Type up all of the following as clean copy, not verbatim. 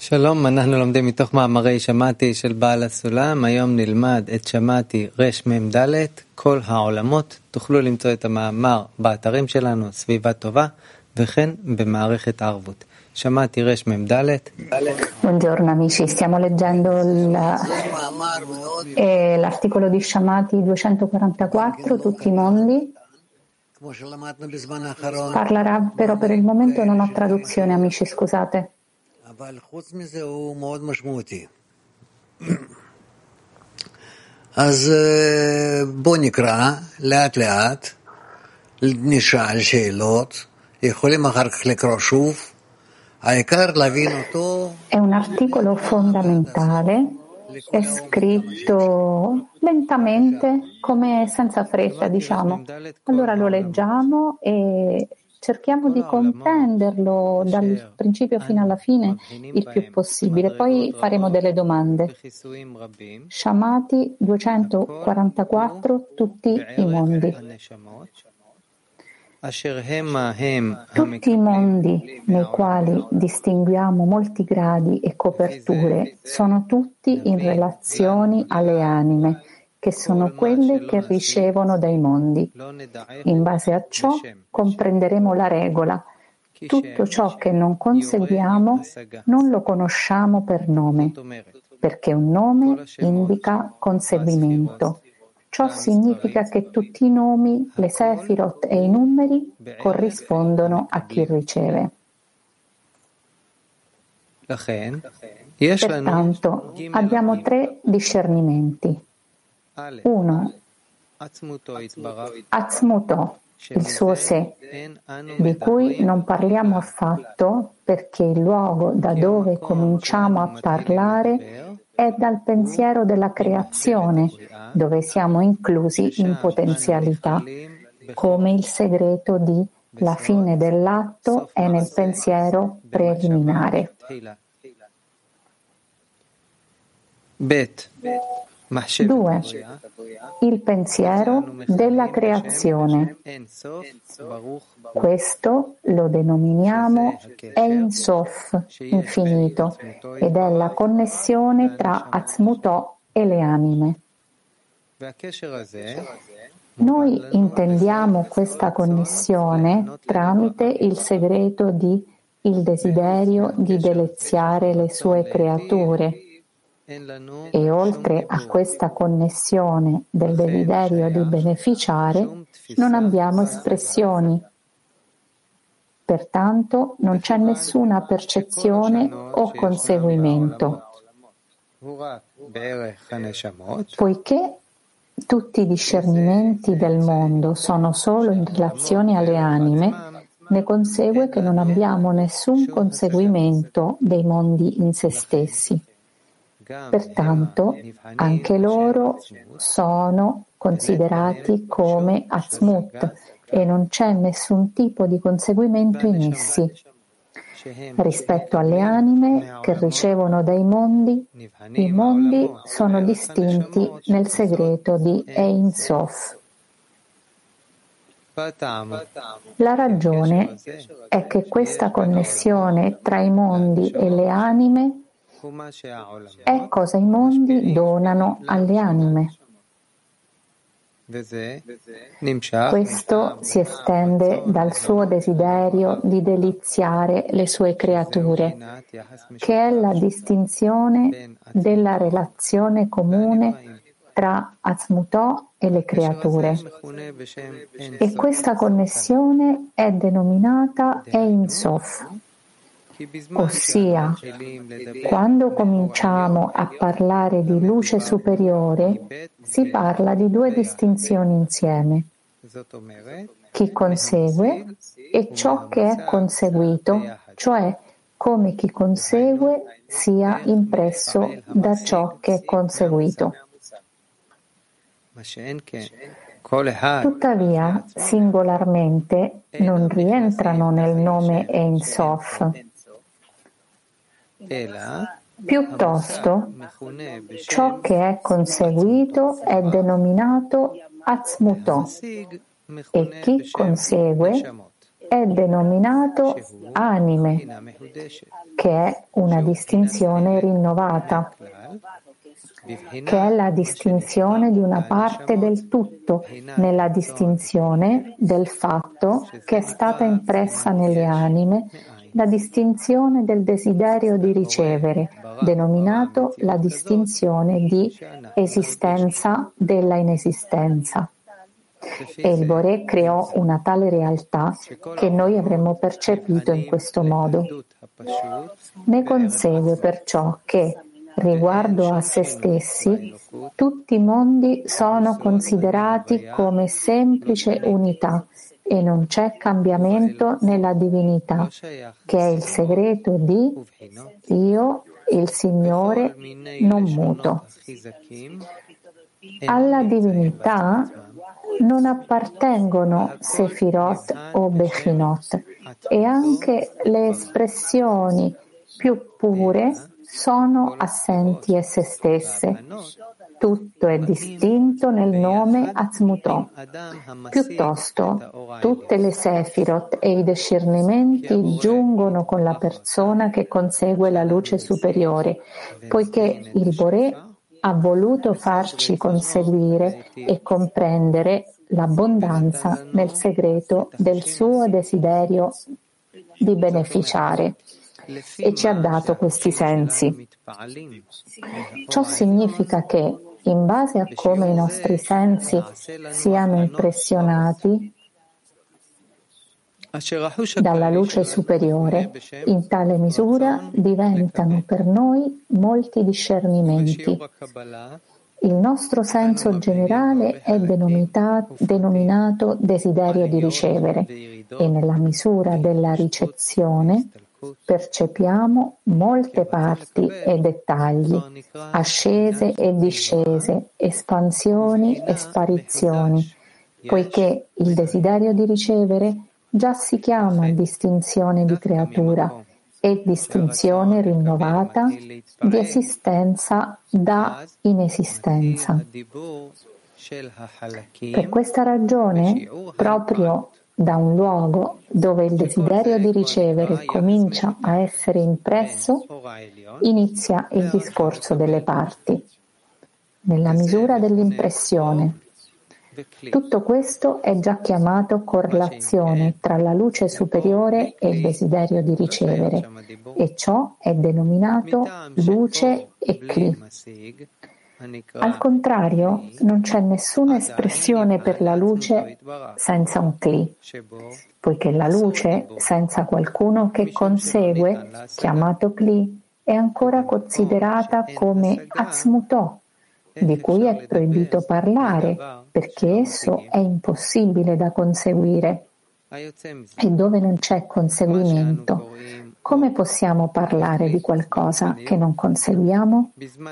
שלום, אנחנו לומדים מתוך מאמרי שמעתי של בעל הסולם. היום נלמד את שמעתי רמ"ד, כל העולמות. תוכלו למצוא את המאמר באתרים שלנו, סביבה טובה, וכן במערכת הערבות. שמעתי רמ"ד. Buongiorno amici, stiamo leggendo l'articolo di Shamati 244, tutti i mondi. Parlerà, però per il momento non ho traduzione, amici, scusate. אז בוא נקרא לאט לאט, נשאל שאלות, יכולים אחר כך לקרוא שוב, העיקר להבין אותו. È un articolo fondamentale, è scritto lentamente, come senza fretta, diciamo. Allora lo leggiamo e cerchiamo di comprenderlo dal principio fino alla fine il più possibile, poi faremo delle domande. Shamati 244, tutti i mondi. Tutti i mondi nei quali distinguiamo molti gradi e coperture sono tutti in relazioni alle anime, che sono quelle che ricevono dai mondi. In base a ciò comprenderemo la regola. Tutto ciò che non conseguiamo non lo conosciamo per nome, perché un nome indica conseguimento. Ciò significa che tutti i nomi, le sefirot e i numeri corrispondono a chi riceve. Pertanto abbiamo tre discernimenti. 1. Atzmuto, il suo sé, di cui non parliamo affatto perché il luogo da dove cominciamo a parlare è dal pensiero della creazione, dove siamo inclusi in potenzialità, come il segreto di la fine dell'atto è nel pensiero preliminare. 2. Il pensiero della creazione. Questo lo denominiamo Ein Sof, infinito, ed è la connessione tra Atzmutò e le anime. Noi intendiamo questa connessione tramite il segreto di il desiderio di deleziare le sue creature. E oltre a questa connessione del desiderio di beneficiare, non abbiamo espressioni. Pertanto non c'è nessuna percezione o conseguimento. Poiché tutti i discernimenti del mondo sono solo in relazione alle anime, ne consegue che non abbiamo nessun conseguimento dei mondi in se stessi. Pertanto anche loro sono considerati come Atzmut e non c'è nessun tipo di conseguimento in essi. Rispetto alle anime che ricevono dai mondi, i mondi sono distinti nel segreto di Ein Sof. La ragione è che questa connessione tra i mondi e le anime è cosa i mondi donano alle anime. Questo si estende dal suo desiderio di deliziare le sue creature, che è la distinzione della relazione comune tra Atzmutò e le creature. E questa connessione è denominata Ein Sof. Ossia, quando cominciamo a parlare di luce superiore, si parla di due distinzioni insieme: chi consegue e ciò che è conseguito, cioè come chi consegue sia impresso da ciò che è conseguito. Tuttavia, singolarmente non rientrano nel nome Ein Sof. Piuttosto, ciò che è conseguito è denominato Atzmutò e chi consegue è denominato anime, che è una distinzione rinnovata, che è la distinzione di una parte del tutto, nella distinzione del fatto che è stata impressa nelle anime, la distinzione del desiderio di ricevere, denominato la distinzione di esistenza della inesistenza. E il Boré creò una tale realtà che noi avremmo percepito in questo modo. Ne consegue perciò che, riguardo a se stessi, tutti i mondi sono considerati come semplice unità e non c'è cambiamento nella divinità, che è il segreto di Io, il Signore non muto. Alla divinità non appartengono Sefirot o Bechinot e anche le espressioni più pure sono assenti esse stesse. Tutto è distinto nel nome Atzmutò. Piuttosto, tutte le Sefirot e i discernimenti giungono con la persona che consegue la luce superiore, poiché il Boré ha voluto farci conseguire e comprendere l'abbondanza nel segreto del suo desiderio di beneficiare e ci ha dato questi sensi. Ciò significa che, in base a come i nostri sensi siano impressionati dalla luce superiore, in tale misura diventano per noi molti discernimenti. Il nostro senso generale è denominato desiderio di ricevere e nella misura della ricezione percepiamo molte parti e dettagli, ascese e discese, espansioni e sparizioni, poiché il desiderio di ricevere già si chiama distinzione di creatura e distinzione rinnovata di esistenza da inesistenza. Per questa ragione, proprio da un luogo dove il desiderio di ricevere comincia a essere impresso, inizia il discorso delle parti, nella misura dell'impressione. Tutto questo è già chiamato correlazione tra la luce superiore e il desiderio di ricevere, e ciò è denominato luce e Kli. Al contrario, non c'è nessuna espressione per la luce senza un Kli, poiché la luce senza qualcuno che consegue, chiamato Kli, è ancora considerata come Atzmutò, di cui è proibito parlare, perché esso è impossibile da conseguire. E dove non c'è conseguimento, come possiamo parlare di qualcosa che non conseguiamo?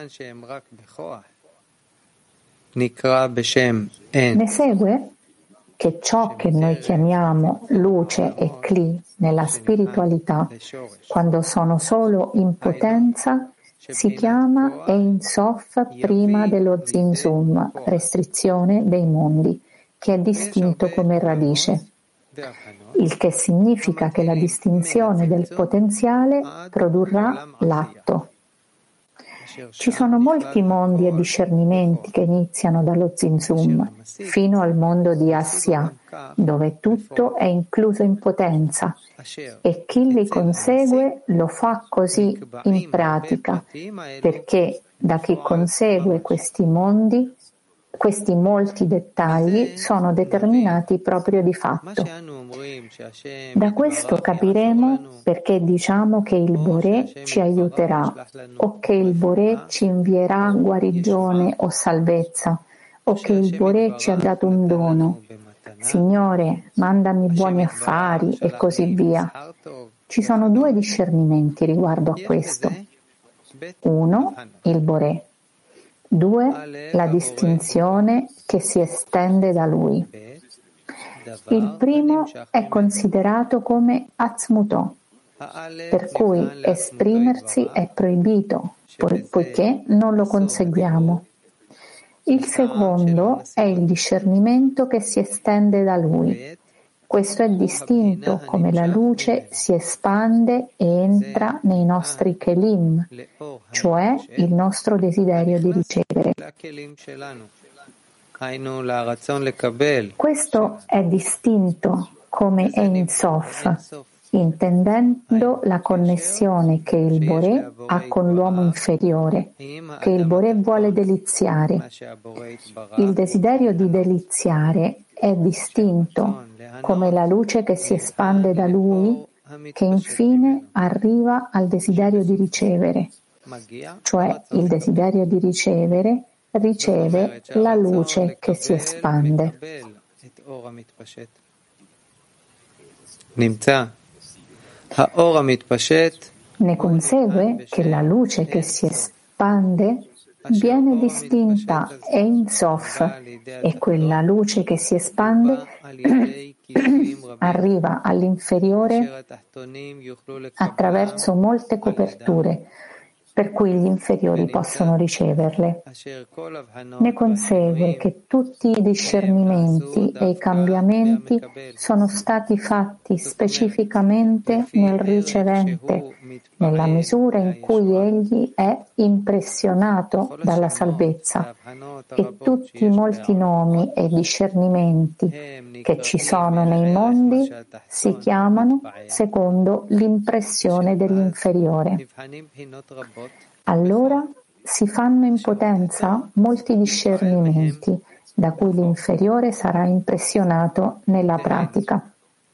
Ne segue che ciò che noi chiamiamo luce e Kli nella spiritualità, quando sono solo in potenza, si chiama Ein Sof prima dello Zinzum, restrizione dei mondi, che è distinto come radice, il che significa che la distinzione del potenziale produrrà l'atto. Ci sono molti mondi e discernimenti che iniziano dallo Zinzum fino al mondo di Asya, dove tutto è incluso in potenza, e chi li consegue lo fa così in pratica, perché da chi consegue questi mondi, questi molti dettagli sono determinati proprio di fatto. Da questo capiremo perché diciamo che il Boré ci aiuterà, o che il Boré ci invierà guarigione o salvezza, o che il Boré ci ha dato un dono. Signore, mandami buoni affari e così via. Ci sono due discernimenti riguardo a questo. 1. Il Boré. 2. La distinzione che si estende da lui. Il primo è considerato come Atzmutò, per cui esprimersi è proibito, poiché non lo conseguiamo. Il secondo è il discernimento che si estende da lui. Questo è distinto come la luce si espande e entra nei nostri kelim, cioè il nostro desiderio di ricevere. Questo è distinto come Ein Sof, intendendo la connessione che il Boré ha con l'uomo inferiore, che il Boré vuole deliziare. Il desiderio di deliziare è distinto come la luce che si espande da lui, che infine arriva al desiderio di ricevere, cioè il desiderio di ricevere riceve la luce che si espande. Ne consegue che la luce che si espande viene distinta Ein Sof e quella luce che si espande arriva all'inferiore attraverso molte coperture, per cui gli inferiori possono riceverle. Ne consegue che tutti i discernimenti e i cambiamenti sono stati fatti specificamente nel ricevente, nella misura in cui egli è impressionato dalla salvezza, e tutti i molti nomi e discernimenti che ci sono nei mondi si chiamano secondo l'impressione dell'inferiore. Allora si fanno in potenza molti discernimenti, da cui l'inferiore sarà impressionato nella pratica.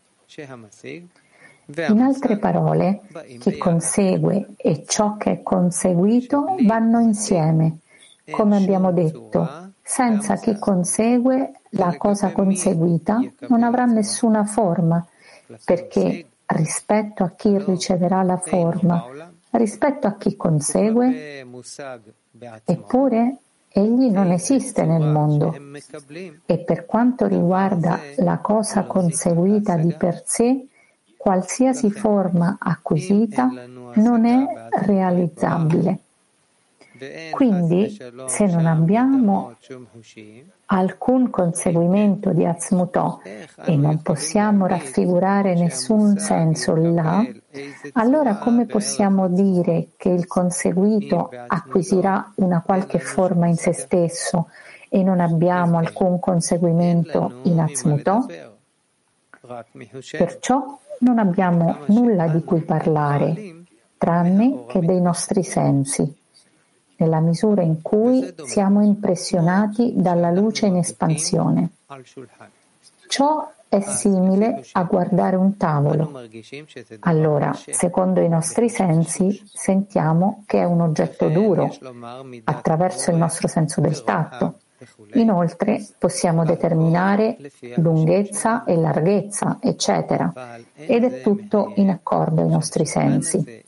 In altre parole, chi consegue e ciò che è conseguito vanno insieme. Come abbiamo detto, senza chi consegue la cosa conseguita non avrà nessuna forma, perché rispetto a chi riceverà la forma, rispetto a chi consegue, eppure egli non esiste nel mondo, e per quanto riguarda la cosa conseguita di per sé, qualsiasi forma acquisita non è realizzabile. Quindi, se non abbiamo alcun conseguimento di Atzmutò e non possiamo raffigurare nessun senso là, allora come possiamo dire che il conseguito acquisirà una qualche forma in se stesso e non abbiamo alcun conseguimento in Atzmutò? Perciò non abbiamo nulla di cui parlare, tranne che dei nostri sensi, nella misura in cui siamo impressionati dalla luce in espansione. Ciò è simile a guardare un tavolo. Allora, secondo i nostri sensi, sentiamo che è un oggetto duro, attraverso il nostro senso del tatto. Inoltre, possiamo determinare lunghezza e larghezza, eccetera, ed è tutto in accordo ai nostri sensi.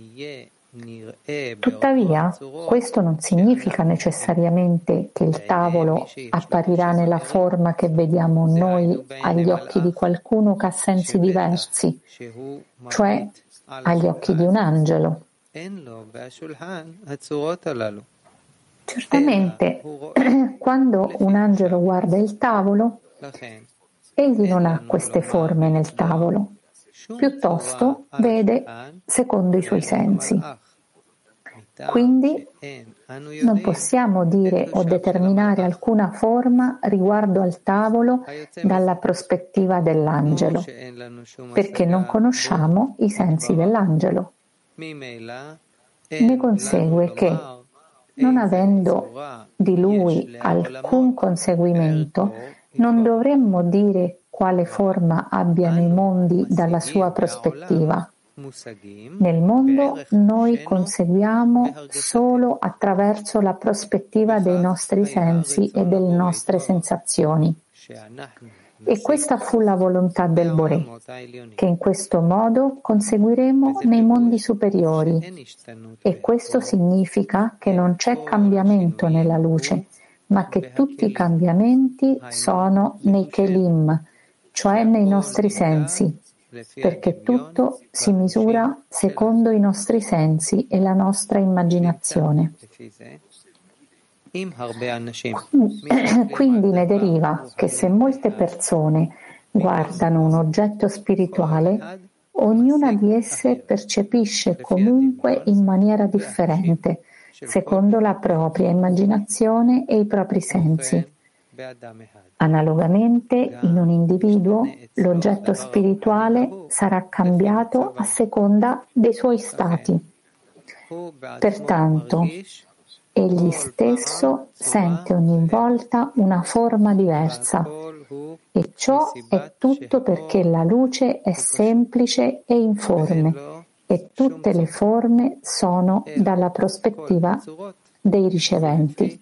Tuttavia, questo non significa necessariamente che il tavolo apparirà nella forma che vediamo noi agli occhi di qualcuno che ha sensi diversi, cioè agli occhi di un angelo. Certamente, quando un angelo guarda il tavolo, egli non ha queste forme nel tavolo, piuttosto vede secondo i suoi sensi. Quindi non possiamo dire o determinare alcuna forma riguardo al tavolo dalla prospettiva dell'angelo, perché non conosciamo i sensi dell'angelo. Ne consegue che, non avendo di lui alcun conseguimento, non dovremmo dire quale forma abbiano i mondi dalla sua prospettiva. Nel mondo noi conseguiamo solo attraverso la prospettiva dei nostri sensi e delle nostre sensazioni. E questa fu la volontà del Boré, che in questo modo conseguiremo nei mondi superiori. E questo significa che non c'è cambiamento nella luce, ma che tutti i cambiamenti sono nei Kelim, cioè nei nostri sensi, perché tutto si misura secondo i nostri sensi e la nostra immaginazione. Quindi ne deriva che se molte persone guardano un oggetto spirituale, ognuna di esse percepisce comunque in maniera differente, secondo la propria immaginazione e i propri sensi. Analogamente, in un individuo, l'oggetto spirituale sarà cambiato a seconda dei suoi stati. Pertanto, egli stesso sente ogni volta una forma diversa, e ciò è tutto perché la luce è semplice e informe, e tutte le forme sono dalla prospettiva dei riceventi.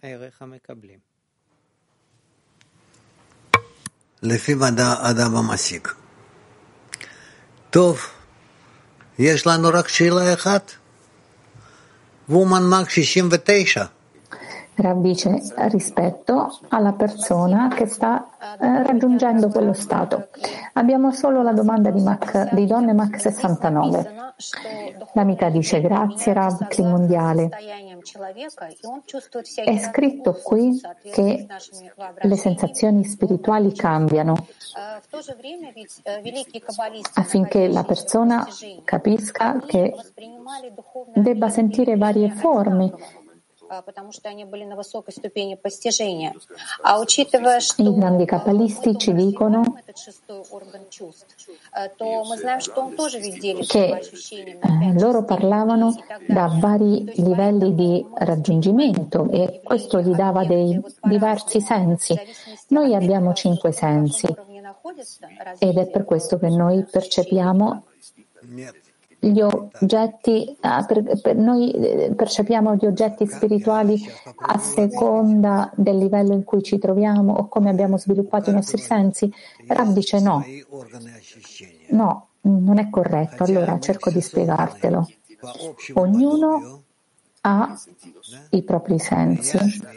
לפי אדם המסיק. טוב, יש לנו רק שאלה אחת. וומן מרק 69. Rav dice rispetto alla persona che sta raggiungendo quello stato. Abbiamo solo la domanda di Donne Mach 69. L'amica dice grazie Rav Kli Mondiale. È scritto qui che le sensazioni spirituali cambiano affinché la persona capisca che debba sentire varie forme. I grandi kabbalisti ci dicono che loro parlavano da vari livelli di raggiungimento e questo gli dava dei diversi sensi. Noi abbiamo 5 sensi ed è per questo che noi percepiamo gli oggetti, noi percepiamo gli oggetti spirituali a seconda del livello in cui ci troviamo o come abbiamo sviluppato i nostri sensi. Rav dice no, non è corretto. Allora cerco di spiegartelo. Ognuno ha i propri sensi,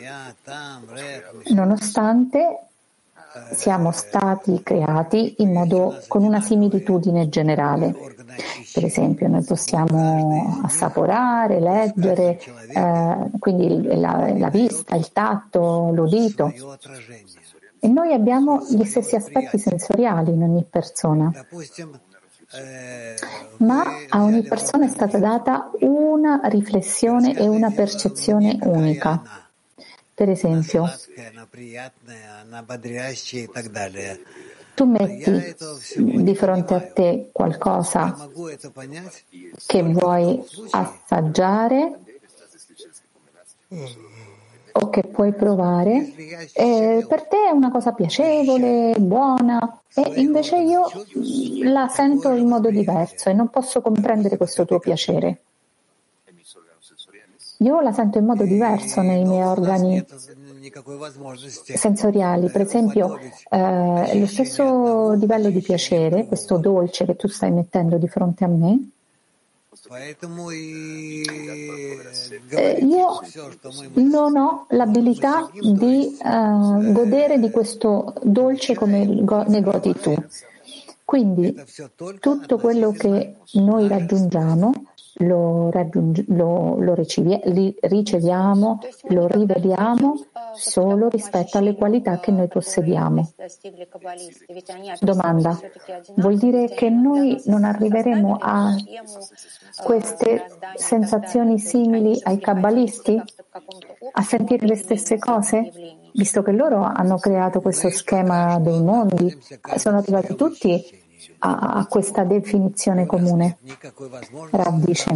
nonostante siamo stati creati con una similitudine generale. Per esempio, noi possiamo assaporare, leggere, quindi la vista, il tatto, l'udito. E noi abbiamo gli stessi aspetti sensoriali in ogni persona. Ma a ogni persona è stata data una riflessione e una percezione unica. Per esempio, tu metti di fronte a te qualcosa che vuoi assaggiare o che puoi provare, e per te è una cosa piacevole, buona, e invece io la sento in modo diverso e non posso comprendere questo tuo piacere. Io la sento in modo diverso nei miei organi sensoriali. Per esempio, lo stesso livello di piacere, questo dolce che tu stai mettendo di fronte a me, io non ho l'abilità di godere di questo dolce come ne godi tu. Quindi tutto quello che noi raggiungiamo lo riceviamo, lo rivediamo solo rispetto alle qualità che noi possediamo. Domanda: vuol dire che noi non arriveremo a queste sensazioni simili ai kabbalisti? A sentire le stesse cose? Visto che loro hanno creato questo schema dei mondi, sono arrivati tutti a questa definizione comune. Rav dice: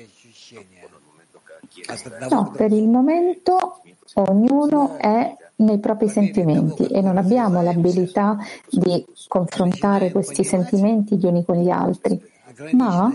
no, per il momento ognuno è nei propri sentimenti e non abbiamo l'abilità di confrontare questi sentimenti gli uni con gli altri, ma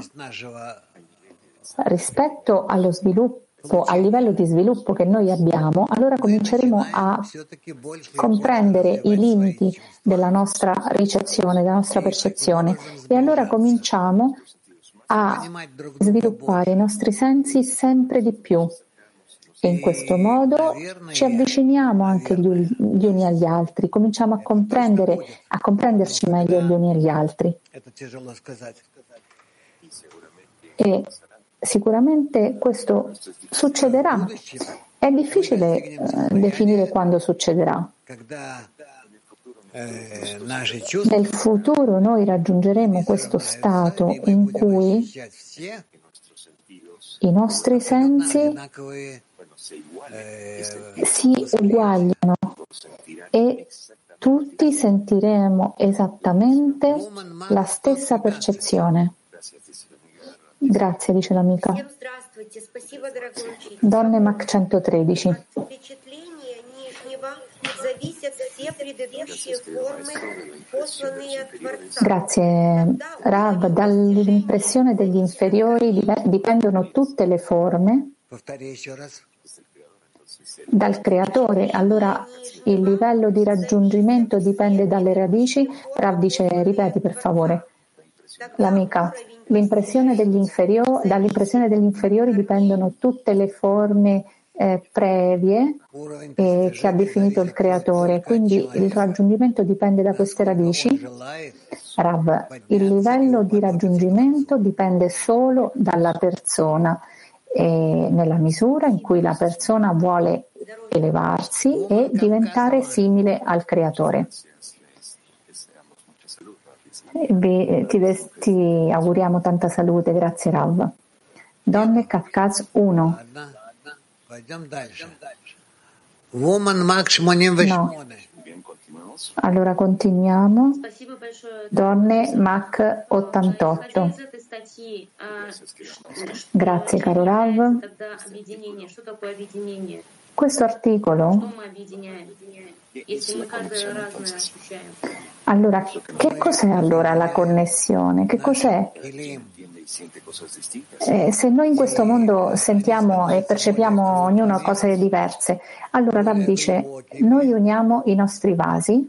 rispetto allo sviluppo, al livello di sviluppo che noi abbiamo, allora cominceremo a comprendere i limiti della nostra ricezione, della nostra percezione, e allora cominciamo a sviluppare i nostri sensi sempre di più. E in questo modo ci avviciniamo anche gli uni agli altri, cominciamo a comprenderci meglio gli uni agli altri. E sicuramente questo succederà. È difficile definire quando succederà. Nel futuro noi raggiungeremo questo stato in cui i nostri sensi si uguagliano e tutti sentiremo esattamente la stessa percezione. Grazie, dice l'amica. Donne Mach 113. Grazie, Rav. Dall'impressione degli inferiori dipendono tutte le forme dal creatore. Allora il livello di raggiungimento dipende dalle radici. Rav dice, ripeti per favore. L'amica, dall'impressione degli inferiori dipendono tutte le forme previe che ha definito il creatore, quindi il raggiungimento dipende da queste radici. Rav, il livello di raggiungimento dipende solo dalla persona, nella misura in cui la persona vuole elevarsi e diventare simile al creatore. Ti auguriamo tanta salute, grazie Rav. Donne Kafkaz 1. No. Allora continuiamo. Donne Mach 88. Grazie caro Rav. Questo articolo, allora, che cos'è allora la connessione? Che cos'è? Se noi in questo mondo sentiamo e percepiamo ognuno cose diverse, allora Rav dice, noi uniamo i nostri vasi,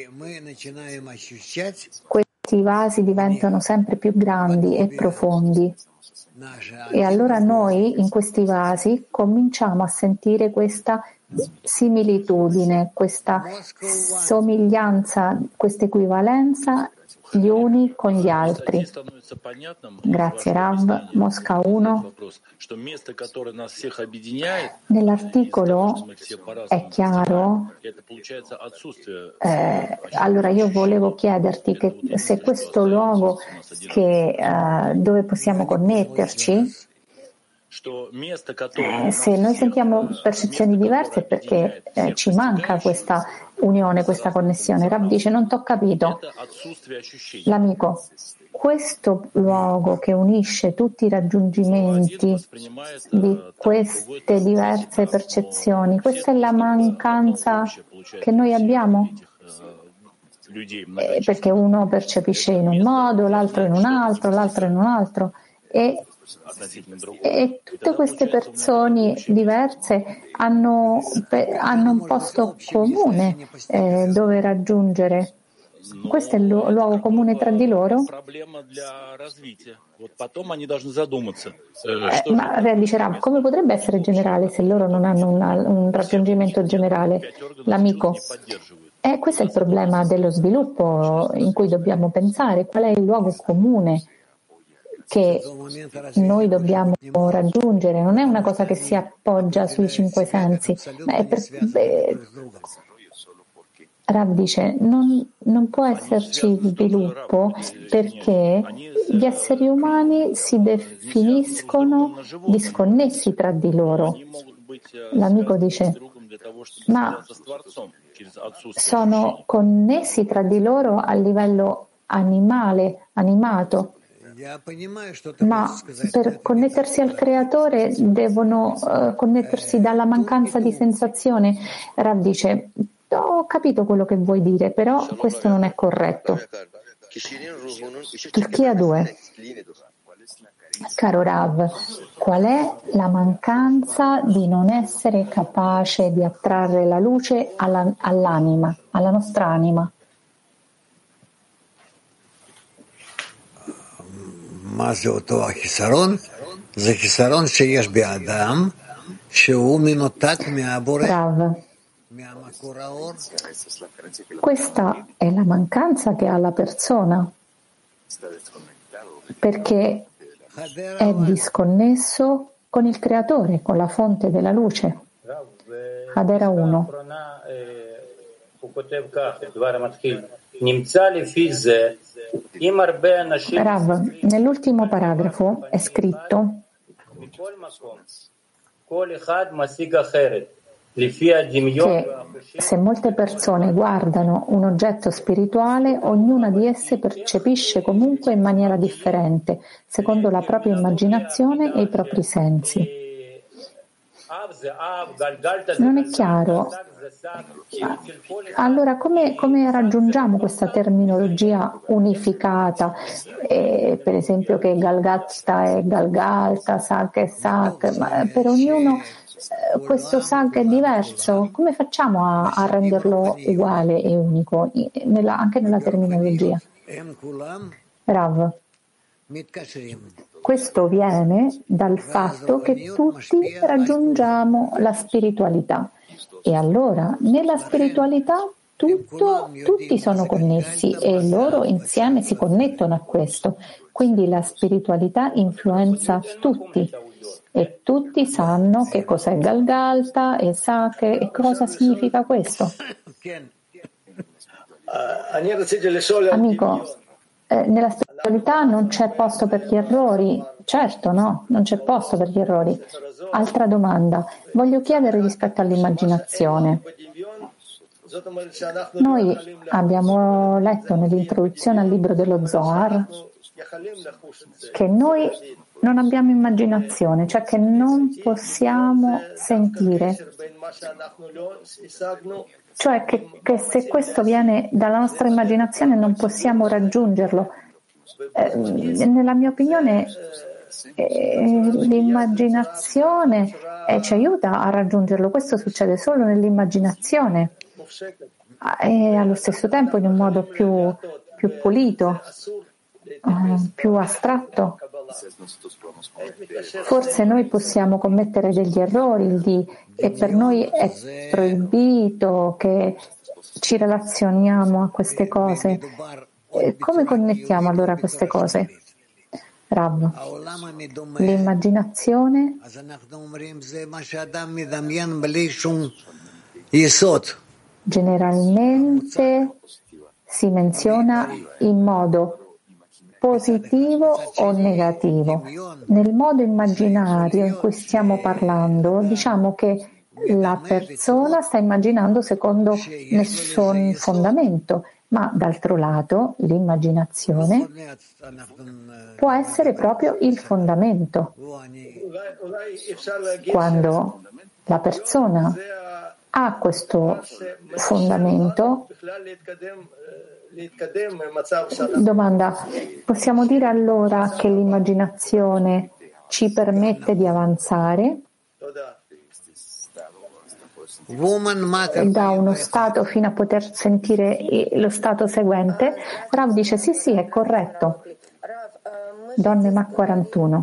questi vasi diventano sempre più grandi e profondi. E allora noi in questi vasi cominciamo a sentire questa similitudine, questa somiglianza, questa equivalenza gli uni con gli altri. Grazie Rav. Mosca 1. Nell'articolo è chiaro, allora io volevo chiederti che se questo luogo dove possiamo connetterci, se noi sentiamo percezioni diverse è perché ci manca questa unione, questa connessione. Rav dice, non t'ho capito. L'amico, questo luogo che unisce tutti i raggiungimenti di queste diverse percezioni, questa è la mancanza che noi abbiamo? Perché uno percepisce in un modo, l'altro in un altro, l'altro in un altro. E tutte queste persone diverse hanno un posto comune dove raggiungere. Questo è il luogo comune tra di loro? Ma dice Rav, come potrebbe essere generale se loro non hanno un raggiungimento generale? L'amico. Questo è il problema dello sviluppo in cui dobbiamo pensare. Qual è il luogo comune che noi dobbiamo raggiungere? Non è una cosa che si appoggia sui cinque sensi, ma è Rav dice non può esserci sviluppo perché gli esseri umani si definiscono disconnessi tra di loro. L'amico dice ma sono connessi tra di loro a livello animato. Ma per connettersi al creatore devono connettersi dalla mancanza di sensazione. Rav dice, ho capito quello che vuoi dire, però questo non è corretto. Turchia 2. Caro Rav, qual è la mancanza di non essere capace di attrarre la luce all'anima, alla nostra anima? Rav, questa è la mancanza che ha la persona, perché è disconnesso con il creatore, con la fonte della luce. Hadera 1. Rav, nell'ultimo paragrafo è scritto che se molte persone guardano un oggetto spirituale, ognuna di esse percepisce comunque in maniera differente, secondo la propria immaginazione e i propri sensi. Non è chiaro. Allora, come raggiungiamo questa terminologia unificata? Per esempio che Galgalta è Galgalta, Sak è Sak, ma per ognuno questo Sak è diverso. Come facciamo a renderlo uguale e unico, anche nella terminologia? Rav. Questo viene dal fatto che tutti raggiungiamo la spiritualità e allora nella spiritualità tutti sono connessi e loro insieme si connettono a questo. Quindi la spiritualità influenza tutti e tutti sanno che cos'è Galgalta e Sake e cosa significa questo. Amico, nella spiritualità non c'è posto per gli errori. Certo, no, non c'è posto per gli errori. Altra domanda. Voglio chiedere rispetto all'immaginazione. Noi abbiamo letto nell'introduzione al libro dello Zohar che noi non abbiamo immaginazione, cioè che non possiamo sentire. Cioè che se questo viene dalla nostra immaginazione non possiamo raggiungerlo. Nella mia opinione l'immaginazione ci aiuta a raggiungerlo. Questo succede solo nell'immaginazione e allo stesso tempo in un modo più pulito, più astratto. Forse noi possiamo commettere degli errori e per noi è proibito che ci relazioniamo a queste cose. Come connettiamo allora queste cose? Rav, l'immaginazione generalmente si menziona in modo positivo o negativo. Nel modo immaginario in cui stiamo parlando, diciamo che la persona sta immaginando secondo nessun fondamento, ma d'altro lato l'immaginazione può essere proprio il fondamento. Quando la persona ha questo fondamento, domanda, possiamo dire allora che l'immaginazione ci permette di avanzare da uno stato fino a poter sentire lo stato seguente? Rav dice sì, è corretto. Donne Mac 41.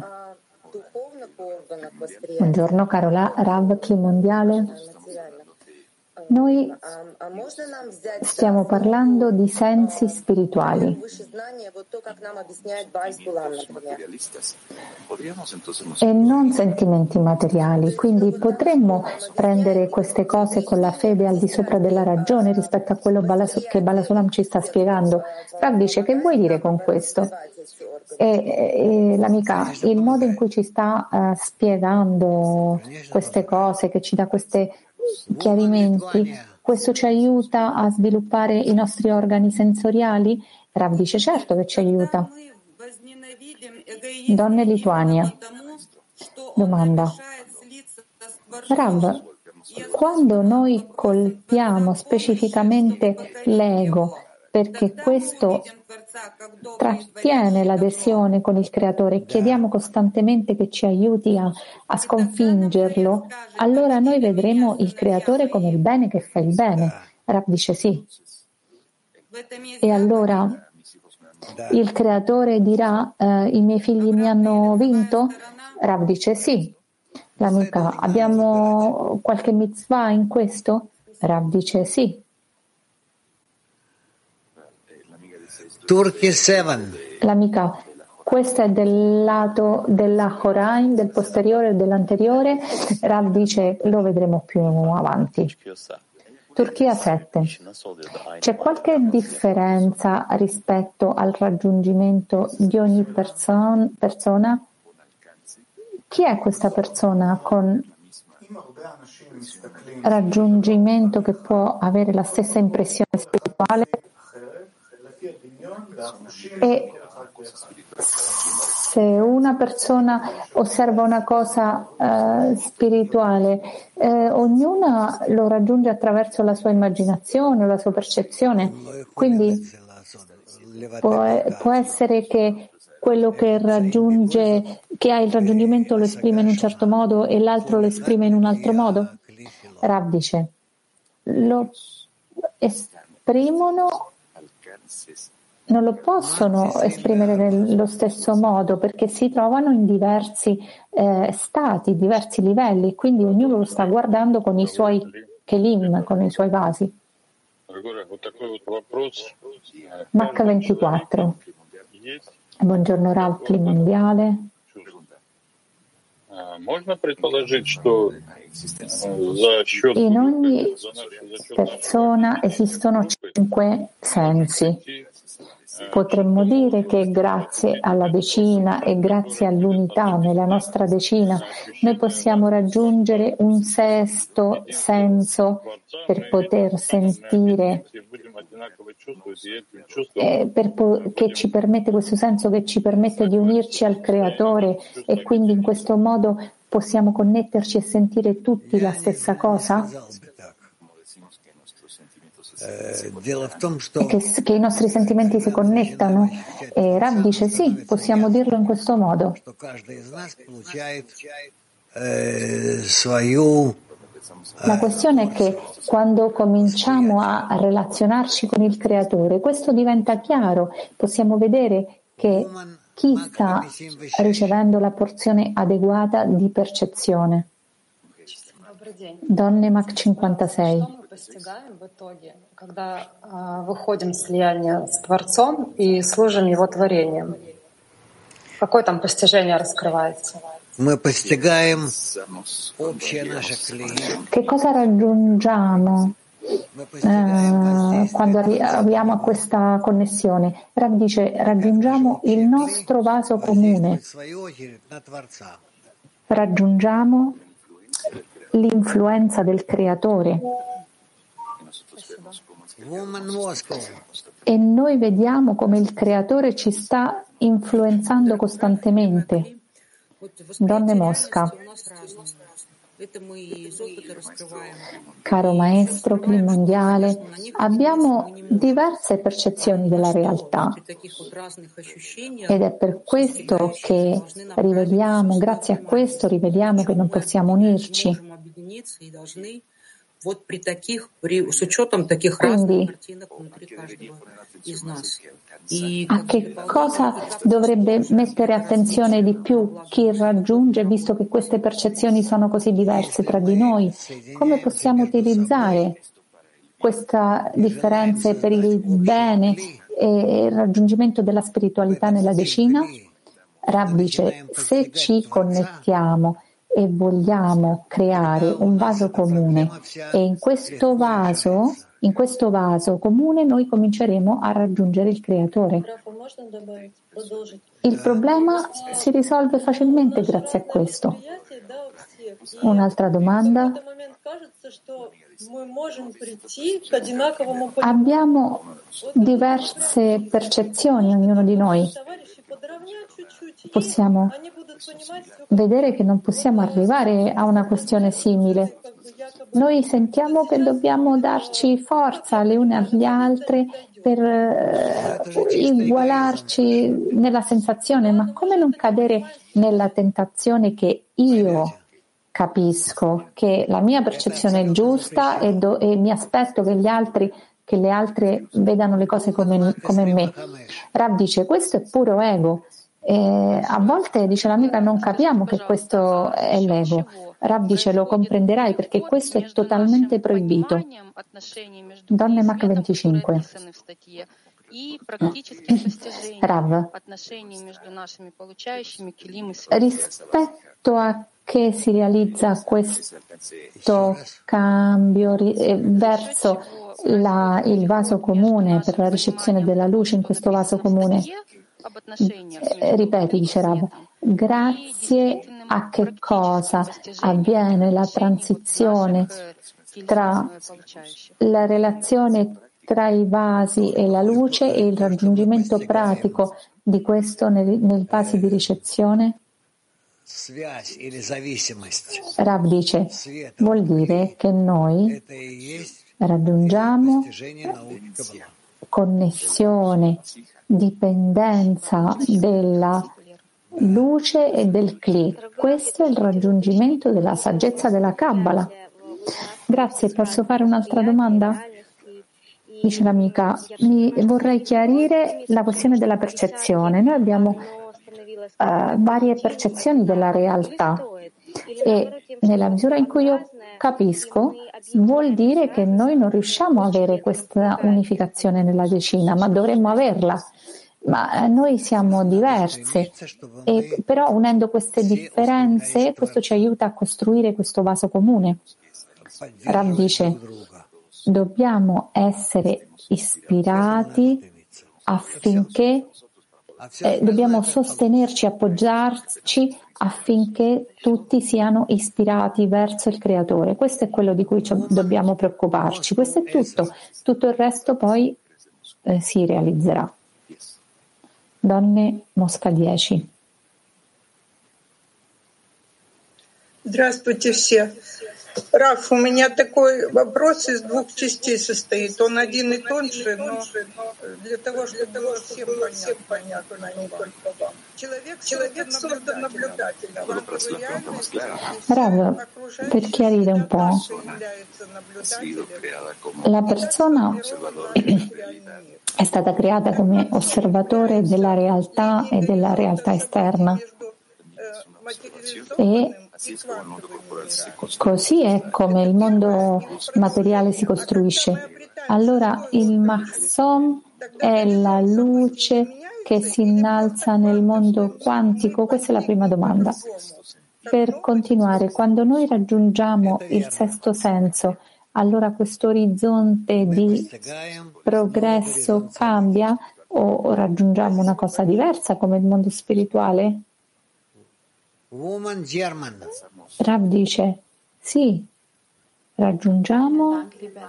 Buongiorno caro Rav, chi mondiale? Noi stiamo parlando di sensi spirituali e non sentimenti materiali, quindi potremmo prendere queste cose con la fede al di sopra della ragione rispetto a quello che Balasulam ci sta spiegando. Rav dice, che vuoi dire con questo? E l'amica, il modo in cui ci sta spiegando queste cose, che ci dà questi chiarimenti, questo ci aiuta a sviluppare i nostri organi sensoriali? Rav dice certo che ci aiuta. Donne Lituania. Domanda. Rav, quando noi colpiamo specificamente l'ego perché questo trattiene l'adesione con il creatore e chiediamo costantemente che ci aiuti a sconfiggerlo, allora noi vedremo il creatore come il bene che fa il bene. Rav dice sì. E allora il creatore dirà i miei figli mi hanno vinto? Rav dice sì. L'amica, abbiamo qualche mitzvah in questo? Rav dice sì. Turkey 7. L'amica, questo è del lato della Horain, del posteriore e dell'anteriore. Rav dice lo vedremo più avanti. Turchia 7. C'è qualche differenza rispetto al raggiungimento di ogni persona? Chi è questa persona con raggiungimento che può avere la stessa impressione spirituale? E se una persona osserva una cosa spirituale, ognuna lo raggiunge attraverso la sua immaginazione o la sua percezione, quindi può essere che quello che raggiunge, che ha il raggiungimento lo esprime in un certo modo e l'altro lo esprime in un altro modo? Rav dice, lo esprimono, non lo possono esprimere nello stesso modo perché si trovano in diversi stati, diversi livelli, quindi ognuno lo sta guardando con i suoi kelim, con i suoi vasi. Mach 24. Buongiorno Rav, Clima Mondiale. In ogni persona esistono 5 sensi. Potremmo dire che grazie alla decina e grazie all'unità nella nostra decina noi possiamo raggiungere un sesto senso per poter sentire, che ci permette questo senso che ci permette di unirci al Creatore e quindi in questo modo possiamo connetterci e sentire tutti la stessa cosa? Che i nostri sentimenti si connettano? E Rav dice sì, possiamo dirlo in questo modo. La questione è che quando cominciamo a relazionarci con il Creatore, questo diventa chiaro, possiamo vedere che chi sta ricevendo la porzione adeguata di percezione. Donne Mach 56. Когда выходим в слияние с Творцом и служим Его творением, какое там постижение раскрывается? Che cosa raggiungiamo quando arriviamo a questa connessione? Rav dice, raggiungiamo il nostro vaso comune, raggiungiamo l'influenza del Creatore. E noi vediamo come il Creatore ci sta influenzando costantemente. Donne Mosca. Caro maestro Clima Mondiale, abbiamo diverse percezioni della realtà ed è per questo che riveliamo, grazie a questo riveliamo che non possiamo unirci. Quindi, a che cosa dovrebbe mettere attenzione di più chi raggiunge, visto che queste percezioni sono così diverse tra di noi? Come possiamo utilizzare queste differenze per il bene e il raggiungimento della spiritualità nella decina? Rav dice, se ci connettiamo e vogliamo creare un vaso comune e in questo vaso comune noi cominceremo a raggiungere il Creatore. Il problema si risolve facilmente grazie a questo. Un'altra domanda. Abbiamo diverse percezioni, ognuno di noi. Possiamo vedere che non possiamo arrivare a una questione simile. Noi sentiamo che dobbiamo darci forza le une agli altre per igualarci nella sensazione, ma come non cadere nella tentazione che io capisco che la mia percezione è giusta e mi aspetto che le altre vedano le cose come me. Rav dice, questo è puro ego. A volte, dice l'amica, non capiamo che questo è l'ego. Rav dice, lo comprenderai perché questo è totalmente proibito. Donne Mach 25. Rav, rispetto a che si realizza questo cambio verso il vaso comune, per la ricezione della luce in questo vaso comune. Ripeti, dice Rav, grazie a che cosa avviene la transizione tra la relazione tra i vasi e la luce e il raggiungimento pratico di questo nei vasi di ricezione? Rav dice, vuol dire che noi raggiungiamo connessione, dipendenza della luce e del Kli. Questo è il raggiungimento della saggezza della Kabbalah. Grazie, posso fare un'altra domanda? Dice l'amica, vorrei chiarire la questione della percezione. Noi abbiamo varie percezioni della realtà e nella misura in cui io capisco vuol dire che noi non riusciamo a avere questa unificazione nella decina, ma dovremmo averla. Ma noi siamo diverse, però unendo queste differenze questo ci aiuta a costruire questo vaso comune. Rav dice, dobbiamo essere ispirati affinché dobbiamo sostenerci, appoggiarci affinché tutti siano ispirati verso il Creatore. Questo è quello di cui dobbiamo preoccuparci. Questo è tutto il resto poi si realizzerà. Donne Mosca 10. Здравствуйте все. Раф, у меня такой вопрос из двух частей состоит. Он один и тот же, но для того, чтобы было всем понятно, не только вам. Человек создан наблюдателем. Rav, per chiarire un po', la persona è stata creata come osservatore della realtà e della realtà esterna. E così è come il mondo materiale si costruisce. Allora il Mahsom è la luce che si innalza nel mondo quantico? Questa è la prima domanda. Per continuare, quando noi raggiungiamo il sesto senso, allora questo orizzonte di progresso cambia o raggiungiamo una cosa diversa come il mondo spirituale? Rav dice, sì, raggiungiamo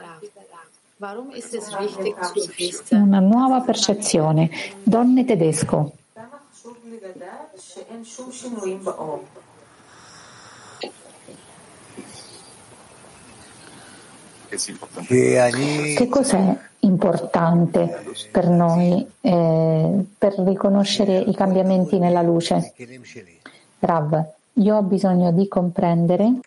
una nuova percezione. Donne Tedesco. Che cos'è importante per noi per riconoscere i cambiamenti nella luce? Rav, io ho bisogno di comprendere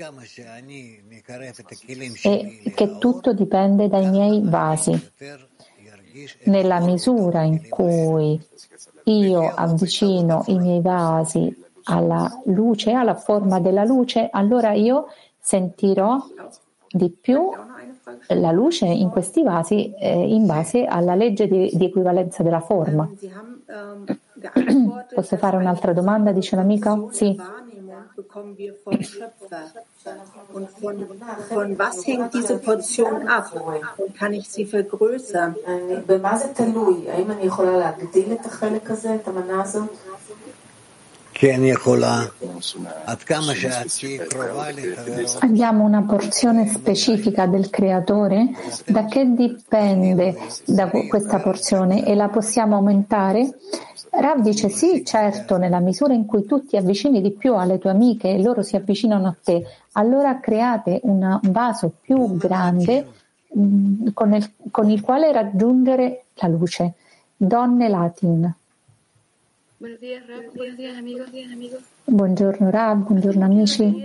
che tutto dipende dai miei vasi. Nella misura in cui io avvicino i miei vasi alla luce, alla forma della luce, allora io sentirò di più la luce in questi vasi in base alla legge di equivalenza della forma. Posso fare un'altra domanda, dice l'amica? Sì. Von was hängt diese Portion ab? Kann ich sie vergrößern? במה זה תלוי? האם אני יכולה להגדיל את החלק הזה, את המנה הזאת? Abbiamo una porzione specifica del Creatore? Da che dipende da questa porzione e la possiamo aumentare? Rav dice sì, certo, nella misura in cui tu ti avvicini di più alle tue amiche e loro si avvicinano a te, allora create un vaso più grande con il quale raggiungere la luce. Donne Latin. Buongiorno Rav, buongiorno amici.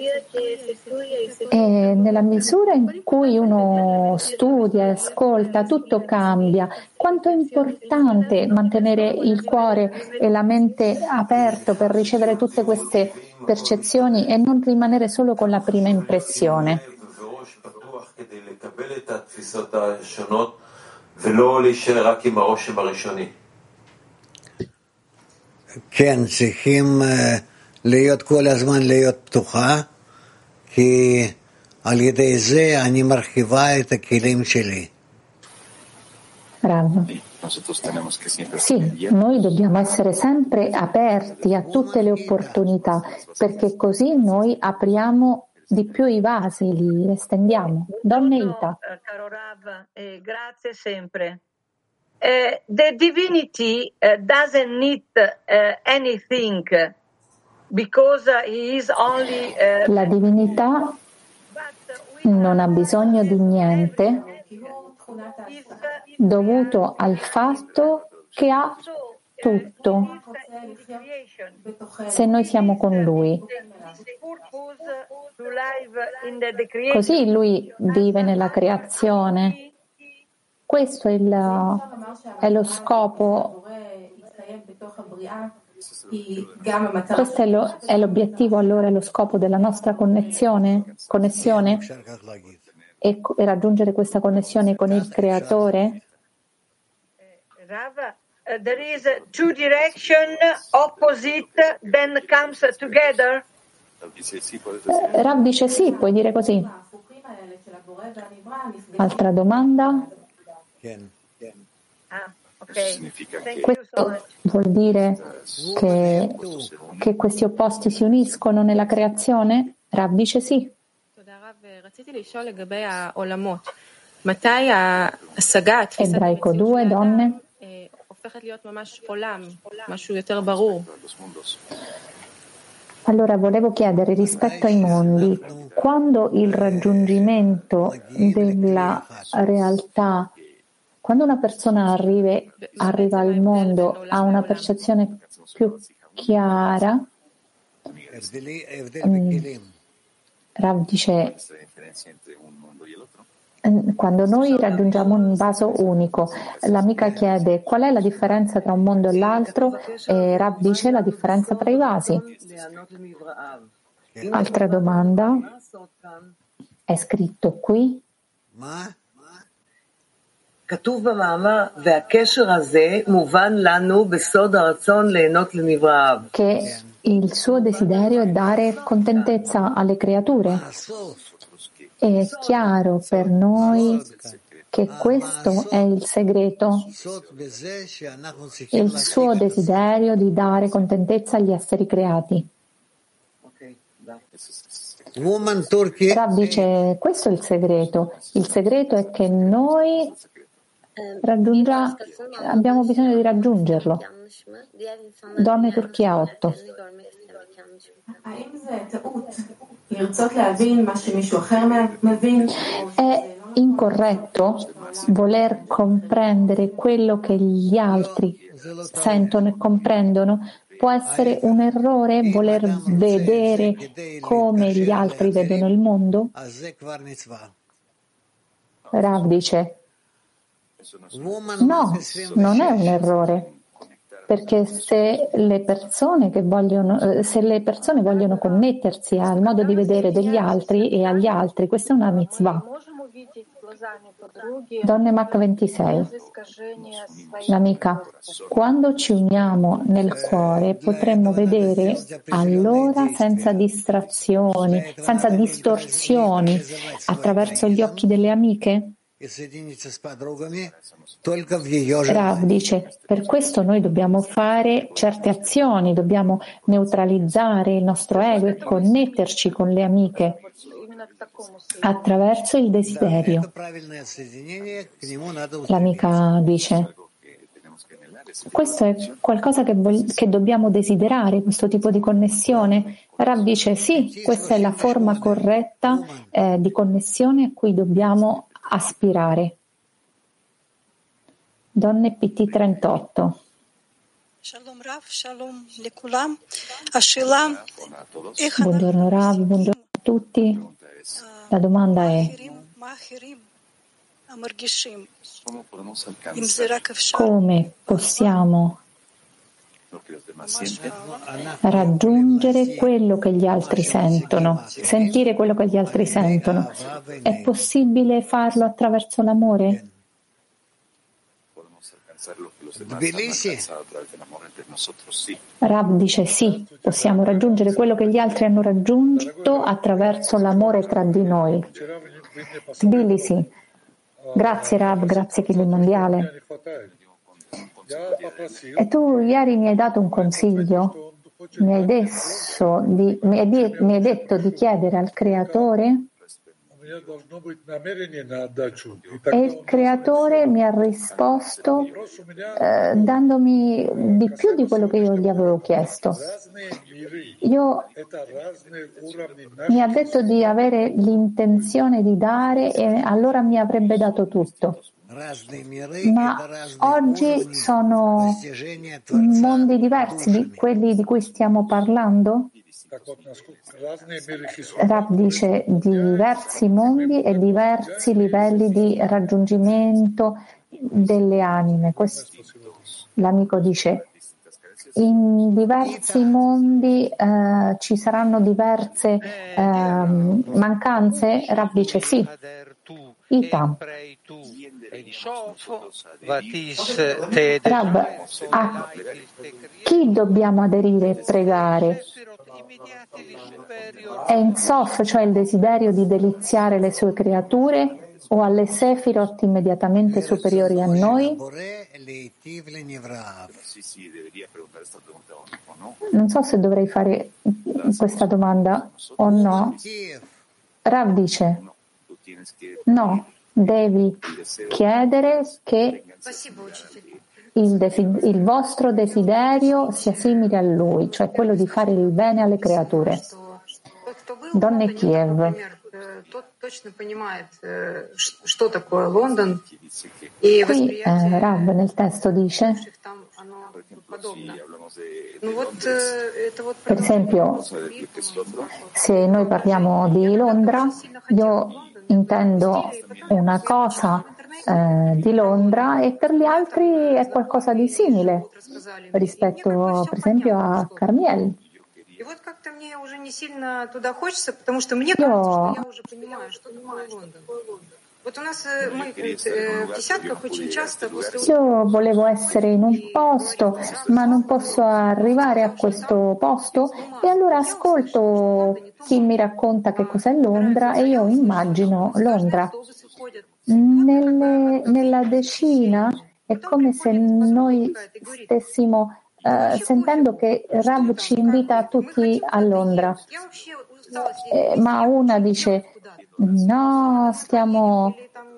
E nella misura in cui uno studia e ascolta, tutto cambia. Quanto è importante mantenere il cuore e la mente aperto per ricevere tutte queste percezioni e non rimanere solo con la prima impressione. כן, צריכים להיות כל הזמן להיות פתוחה כי על ידי זה אני מרחיבה את הכלים שלי. Rav. Sì, noi dobbiamo essere sempre aperti a tutte le opportunità, perché così noi apriamo di più i vasi, li estendiamo. Donne Ita. Caro Rav, grazie sempre. The divinity doesn't need anything because he is only. La divinità non ha bisogno di niente dovuto al fatto che ha tutto se noi siamo con lui. Così lui vive nella creazione. Questo è lo scopo. Questo è l'obiettivo, allora, è lo scopo della nostra connessione e raggiungere questa connessione con il Creatore. There is two direction opposite then comes together. Rav dice sì, puoi dire così. Altra domanda? Questo vuol dire che questi opposti si uniscono nella creazione? Rav dice sì. Ebraico 2, donne. Allora volevo chiedere rispetto ai mondi, quando il raggiungimento della realtà, quando una persona arriva al mondo, ha una percezione più chiara, Rav dice, quando noi raggiungiamo un vaso unico, l'amica chiede qual è la differenza tra un mondo e l'altro e Rav dice la differenza tra i vasi. Altra domanda, è scritto qui che il suo desiderio è dare contentezza alle creature. È chiaro per noi che questo è il segreto, il suo desiderio di dare contentezza agli esseri creati. Rav dice, questo è il segreto. Il segreto è che noi abbiamo bisogno di raggiungerlo. Donne Turchia 8. È incorretto voler comprendere quello che gli altri sentono e comprendono? Può essere un errore voler vedere come gli altri vedono il mondo? Rav dice, no, non è un errore. Perché se le persone vogliono connettersi al modo di vedere degli altri e agli altri, questa è una mitzvah. Donne Mach 26. L'amica, quando ci uniamo nel cuore potremmo vedere allora senza distrazioni, senza distorsioni, attraverso gli occhi delle amiche? Rav dice, per questo noi dobbiamo fare certe azioni, dobbiamo neutralizzare il nostro ego e connetterci con le amiche attraverso il desiderio. L'amica dice, questo è qualcosa che dobbiamo desiderare, questo tipo di connessione? Rav dice, sì, questa è la forma corretta di connessione a cui dobbiamo aspirare. Donne PT 38. Buongiorno Rav, buongiorno a tutti. La domanda è: come possiamo raggiungere quello che gli altri sentono, sentire quello che gli altri sentono? È possibile farlo attraverso l'amore? Rav dice sì, possiamo raggiungere quello che gli altri hanno raggiunto attraverso l'amore tra di noi. Tbilisi. Grazie Rav, grazie Kili Mondiale. E tu ieri mi hai dato un consiglio, mi hai detto di chiedere al Creatore e il Creatore mi ha risposto dandomi di più di quello che io gli avevo chiesto. Mi ha detto di avere l'intenzione di dare e allora mi avrebbe dato tutto. Ma oggi sono mondi diversi di quelli di cui stiamo parlando? Rav dice diversi mondi e diversi livelli di raggiungimento delle anime. L'amico dice in diversi mondi ci saranno diverse mancanze? Rav dice sì. Ita. Rav, a chi dobbiamo aderire e pregare? È in Sof, cioè il desiderio di deliziare le sue creature, o alle Sefirot immediatamente superiori a noi? Non so se dovrei fare questa domanda o no. Rav dice no, devi chiedere che il vostro desiderio sia simile a lui, cioè quello di fare il bene alle creature. Donne Kiev. Qui Rav nel testo dice, per esempio, se noi parliamo di Londra, io intendo una cosa di Londra e per gli altri è qualcosa di simile rispetto per esempio a Carmiel. Io volevo essere in un posto, ma non posso arrivare a questo posto e allora ascolto chi mi racconta che cos'è Londra e io immagino Londra. Nella decina è come se noi stessimo sentendo che Rav ci invita tutti a Londra, ma una dice no, stiamo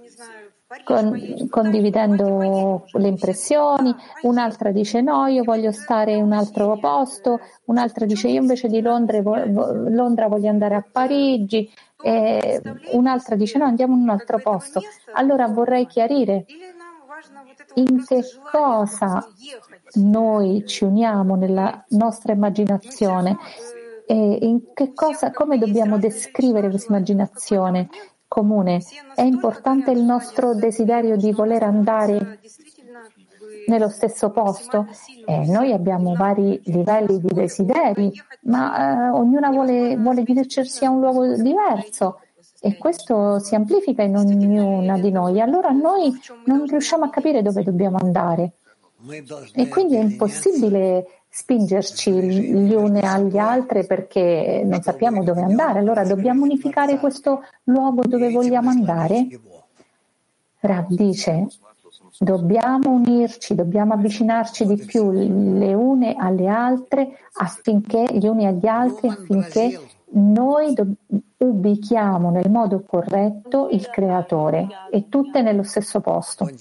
condividendo le impressioni, un'altra dice no, io voglio stare in un altro posto, un'altra dice io invece di Londra voglio andare a Parigi, e un'altra dice no, andiamo in un altro posto. Allora vorrei chiarire in che cosa noi ci uniamo nella nostra immaginazione e in che cosa, come dobbiamo descrivere questa immaginazione comune. È importante il nostro desiderio di voler andare nello stesso posto. Noi abbiamo vari livelli di desideri, ma ognuna vuole dirigersi a un luogo diverso. E questo si amplifica in ognuna di noi. Allora noi non riusciamo a capire dove dobbiamo andare. E quindi è impossibile spingerci gli uni agli altri perché non sappiamo dove andare. Allora dobbiamo unificare questo luogo dove vogliamo andare? Rav dice, dobbiamo unirci, dobbiamo avvicinarci di più le une alle altre affinché gli uni agli altri, affinché noi ubichiamo nel modo corretto il Creatore e tutte nello stesso posto.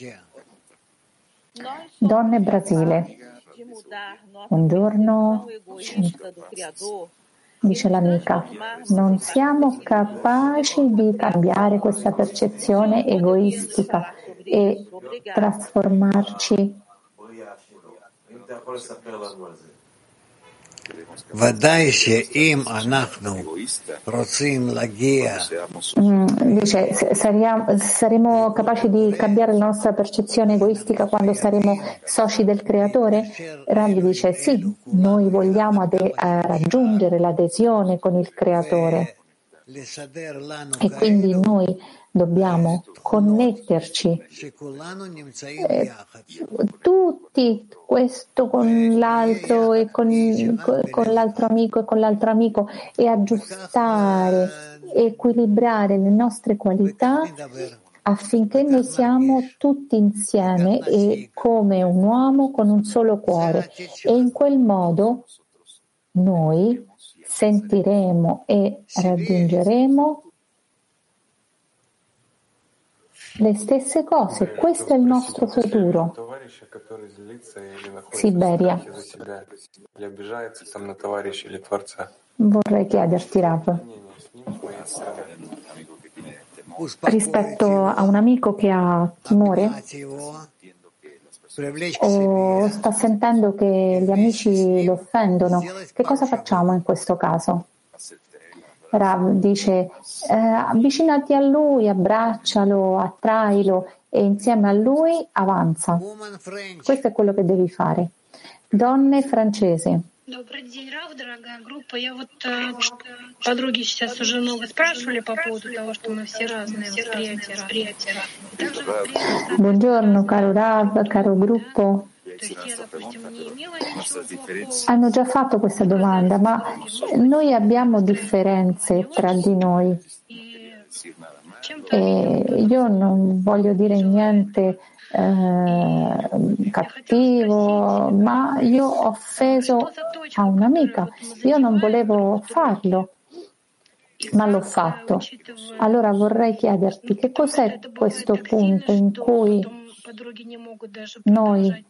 Donne Brasile. Buongiorno, dice l'amica, non siamo capaci di cambiare questa percezione egoistica e trasformarci. Dice, saremo capaci di cambiare la nostra percezione egoistica quando saremo soci del Creatore? Rav dice sì, noi vogliamo raggiungere l'adesione con il Creatore. E quindi noi dobbiamo connetterci tutti, questo con l'altro e con l'altro amico e con l'altro amico, e aggiustare, equilibrare le nostre qualità affinché noi siamo tutti insieme e come un uomo con un solo cuore, e in quel modo noi sentiremo e raggiungeremo le stesse cose. Questo è il nostro futuro. Siberia. Vorrei chiederti, Rav, rispetto a un amico che ha timore o sta sentendo che gli amici lo offendono, che cosa facciamo in questo caso? Rav dice, avvicinati a lui, abbraccialo, attrailo e insieme a lui avanza. Questo è quello che devi fare. Donne francese. Добрый день, Рав, дорогая группа. Я вот подруги сейчас уже много спрашивали по поводу того, что мы все разные восприятия. Buongiorno, caro Rav, caro gruppo. Hanno già fatto questa domanda, ma noi abbiamo differenze tra di noi. E io non voglio dire niente cattivo, ma io ho offeso a un'amica. Io non volevo farlo, ma l'ho fatto. Allora vorrei chiederti che cos'è questo punto in cui noi,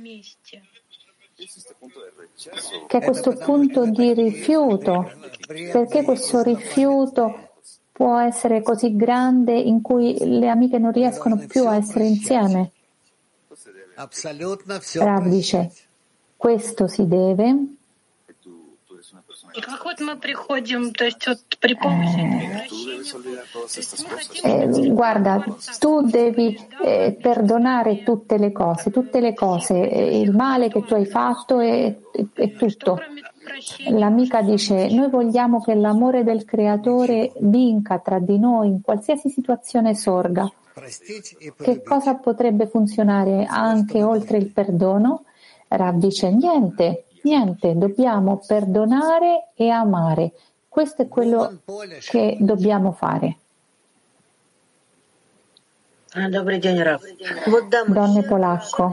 che è questo punto di rifiuto, perché questo rifiuto può essere così grande in cui le amiche non riescono più a essere insieme? Rav dice, questo si deve guarda, tu devi perdonare tutte le cose, il male che tu hai fatto è tutto. L'amica dice, noi vogliamo che l'amore del Creatore vinca tra di noi in qualsiasi situazione sorga. Che cosa potrebbe funzionare anche oltre il perdono? Rav dice, niente, dobbiamo perdonare e amare. Questo è quello che dobbiamo fare. Добрый день, Рав. Donne polacco.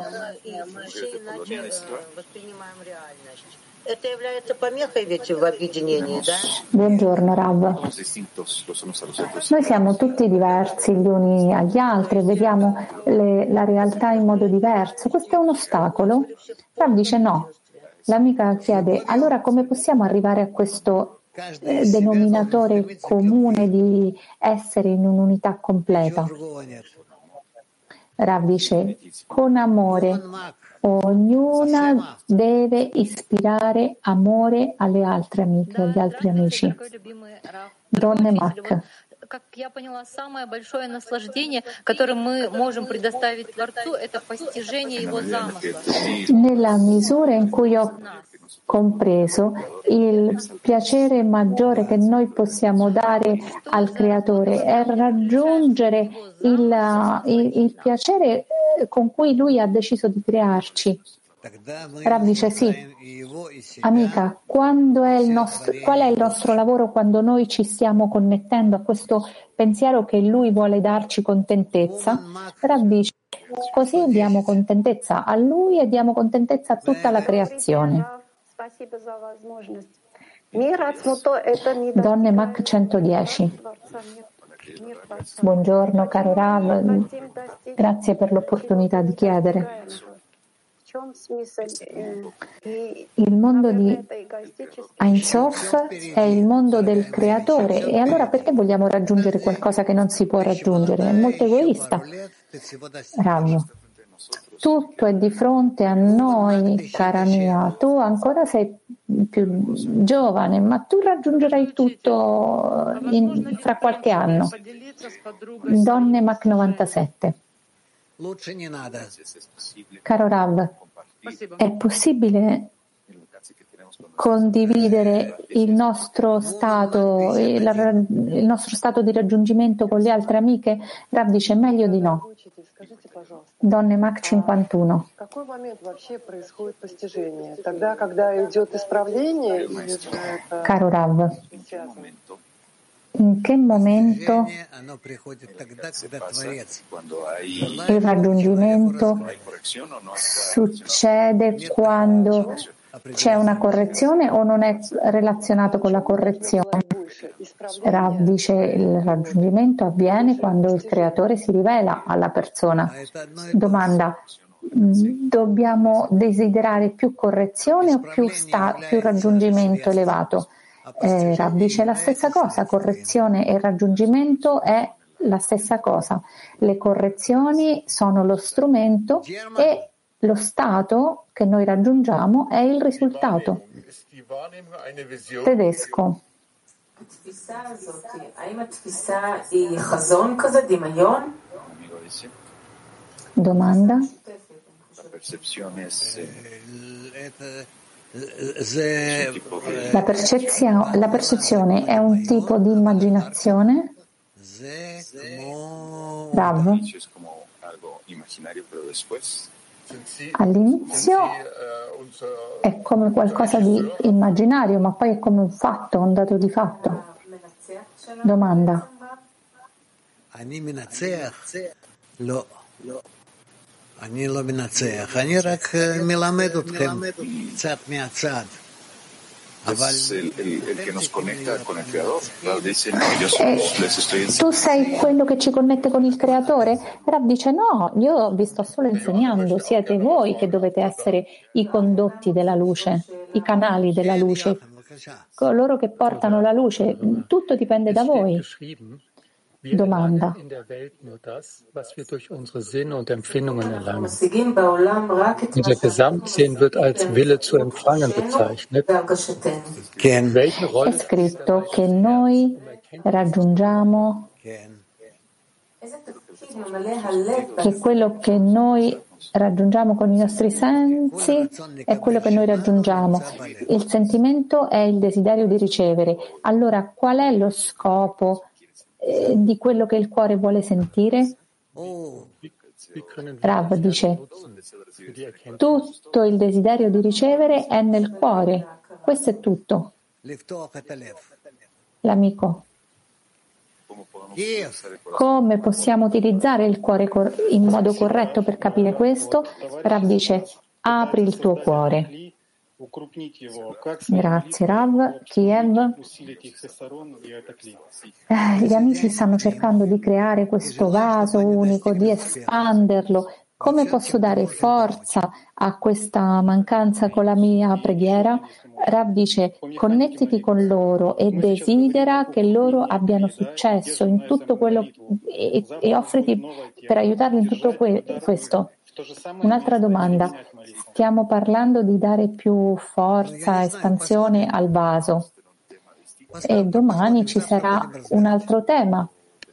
Buongiorno Rav. Noi siamo tutti diversi gli uni agli altri, vediamo la realtà in modo diverso. Questo è un ostacolo? Rav dice no. L'amica chiede, allora come possiamo arrivare a questo denominatore comune di essere in un'unità completa? Rav dice, con amore. Ognuna deve ispirare amore alle altre amiche, agli altri amici. Donne Mac. Как я поняла, самое большое наслаждение, которое мы можем предоставить Творцу, это постижение Его замысла. Nella misura in cui ho compreso, il piacere maggiore che noi possiamo dare al Creatore è raggiungere il piacere con cui Lui ha deciso di crearci. Rav dice sì, amica, qual è il nostro lavoro quando noi ci stiamo connettendo a questo pensiero che Lui vuole darci contentezza? Rav dice, così diamo contentezza a Lui e diamo contentezza a tutta la creazione. Donne Mac 110. Buongiorno caro Rav, grazie per l'opportunità di chiedere. Il mondo di Ein Sof è il mondo del creatore, e allora perché vogliamo raggiungere qualcosa che non si può raggiungere? È molto egoista. Rav, tutto è di fronte a noi, cara mia. Tu ancora sei più giovane, ma tu raggiungerai tutto fra qualche anno. Donne Mac 97. Caro Rav, è possibile condividere il nostro stato di raggiungimento con le altre amiche? Rav dice meglio di no. Donne Mac 51. Caro Rav, in che momento il raggiungimento succede quando c'è una correzione o non è relazionato con la correzione? Rav dice il raggiungimento avviene quando il creatore si rivela alla persona. Domanda: dobbiamo desiderare più correzione o più raggiungimento elevato? Rav dice la stessa cosa, correzione e raggiungimento è la stessa cosa. Le correzioni sono lo strumento e lo stato che noi raggiungiamo è il risultato. Tedesco. Domanda? La percezione è un tipo di immaginazione? Rav? All'inizio è come qualcosa di immaginario, ma poi è come un fatto, un dato di fatto. Domanda. Tu sei quello che ci connette con il creatore? Rav dice no, io vi sto solo insegnando, siete voi che dovete essere i condotti della luce, i canali della luce, coloro che portano la luce, tutto dipende da voi. Domanda. In unser Gesamtsehen wird als Wille zu empfangen bezeichnet. È scritto che noi raggiungiamo, che quello che noi raggiungiamo con i nostri sensi è quello che noi raggiungiamo. Il sentimento è il desiderio di ricevere. Allora, qual è lo scopo di quello che il cuore vuole sentire? Rav dice, tutto il desiderio di ricevere è nel cuore. Questo è tutto. L'amico. Come possiamo utilizzare il cuore in modo corretto per capire questo? Rav dice, apri il tuo cuore. Grazie Rav. Kiev. Gli amici stanno cercando di creare questo vaso unico, di espanderlo. Come posso dare forza a questa mancanza con la mia preghiera? Rav dice, connettiti con loro e desidera che loro abbiano successo in tutto quello e offriti per aiutarli in tutto questo. Un'altra domanda. Stiamo parlando di dare più forza, espansione al vaso. E domani ci sarà un altro tema.